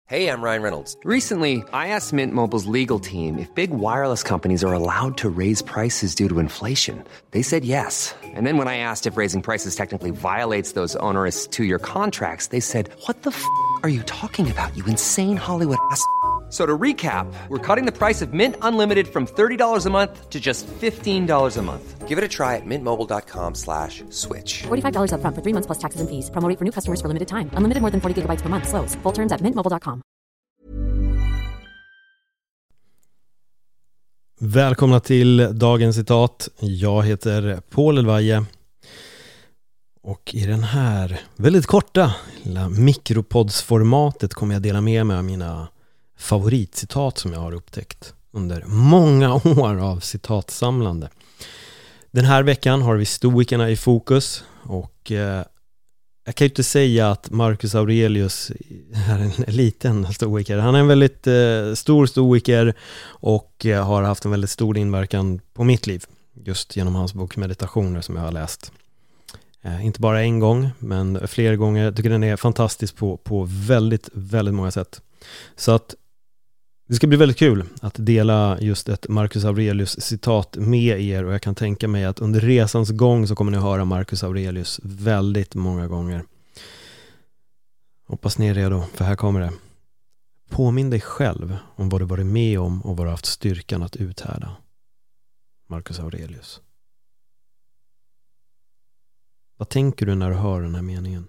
Hey, I'm Ryan Reynolds. Recently, I asked Mint Mobile's legal team if big wireless companies are allowed to raise prices due to inflation. They said yes. And then when I asked if raising prices technically violates those onerous two-year contracts, they said, "What the f*** are you talking about, you insane Hollywood ass?" So to recap, we're cutting the price of Mint Unlimited from $30 a month to just $15 a month. Give it a try at mintmobile.com/switch. $45 up front for 3 months plus taxes and fees. Promo rate for new customers for limited time. Unlimited more than 40 gigabytes per month. Slows full terms at mintmobile.com. Välkomna till dagens citat. Jag heter Paul Elvaje. Och i den här väldigt korta lilla mikropoddsformatet kommer jag dela med mig av mina favoritcitat som jag har upptäckt under många år av citatsamlande. Den här veckan har vi stoikerna i fokus och jag kan ju inte säga att Marcus Aurelius är en liten stoiker. Han är en väldigt stor stoiker och har haft en väldigt stor inverkan på mitt liv just genom hans bok Meditationer som jag har läst. Inte bara en gång men flera gånger. Jag tycker den är fantastisk på väldigt, väldigt många sätt. Så att det ska bli väldigt kul att dela just ett Marcus Aurelius citat med er och jag kan tänka mig att under resans gång så kommer ni höra Marcus Aurelius väldigt många gånger. Hoppas ni är redo, för här kommer det. Påminn dig själv om vad du varit med om och vad du haft styrkan att uthärda. Marcus Aurelius. Vad tänker du när du hör den här meningen?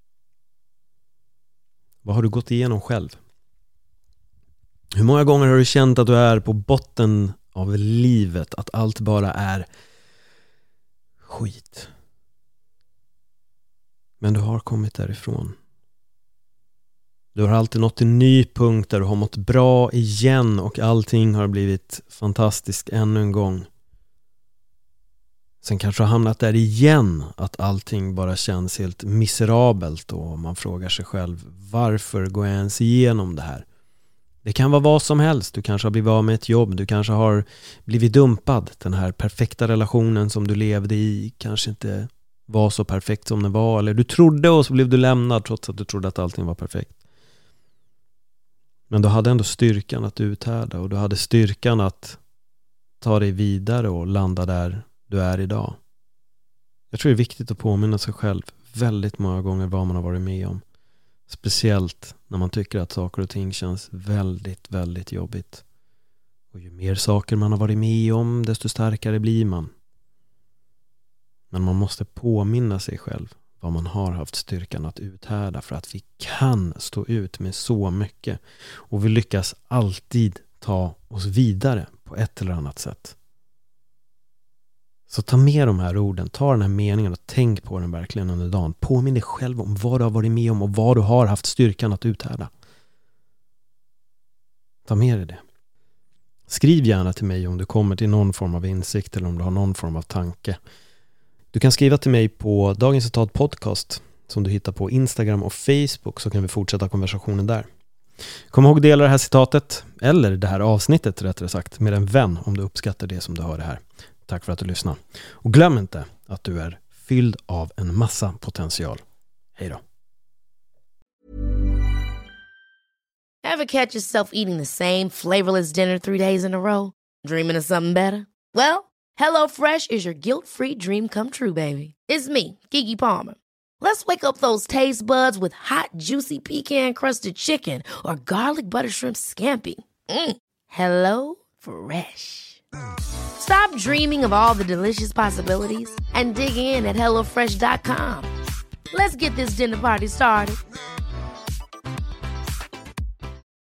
Vad har du gått igenom själv? Hur många gånger har du känt att du är på botten av livet? Att allt bara är skit. Men du har kommit därifrån. Du har alltid nått en ny punkt där du har mått bra igen och allting har blivit fantastiskt ännu en gång. Sen kanske du har hamnat där igen att allting bara känns helt miserabelt och man frågar sig själv, varför går jag ens igenom det här? Det kan vara vad som helst. Du kanske har blivit av med ett jobb. Du kanske har blivit dumpad. Den här perfekta relationen som du levde i kanske inte var så perfekt som den var. Eller du trodde och så blev du lämnad trots att du trodde att allting var perfekt. Men du hade ändå styrkan att uthärda. Och du hade styrkan att ta dig vidare och landa där du är idag. Jag tror det är viktigt att påminna sig själv väldigt många gånger vad man har varit med om. Speciellt när man tycker att saker och ting känns väldigt, väldigt jobbigt. Och ju mer saker man har varit med om, desto starkare blir man. Men man måste påminna sig själv vad man har haft styrkan att uthärda för att vi kan stå ut med så mycket. Och vi lyckas alltid ta oss vidare på ett eller annat sätt. Så ta med de här orden, ta den här meningen och tänk på den verkligen under dagen. Påminn dig själv om vad du har varit med om och vad du har haft styrkan att uthärda. Ta med dig det. Skriv gärna till mig om du kommer till någon form av insikt eller om du har någon form av tanke. Du kan skriva till mig på Dagens Citat Podcast som du hittar på Instagram och Facebook så kan vi fortsätta konversationen där. Kom ihåg att dela det här citatet, eller det här avsnittet rättare sagt, med en vän om du uppskattar det som du hör det här. Tack för att du lyssnar. Och glöm inte att du är fylld av en massa potential. Hej då. Ever catch yourself eating the same flavorless dinner 3 days in a row? Dreaming of something better? Well, HelloFresh is your guilt-free dream come true, baby. It's me, Keke Palmer. Let's wake up those taste buds with hot, juicy pecan-crusted chicken or garlic butter shrimp scampi. Hello Fresh. Stop dreaming of all the delicious possibilities and dig in at HelloFresh.com. Let's get this dinner party started.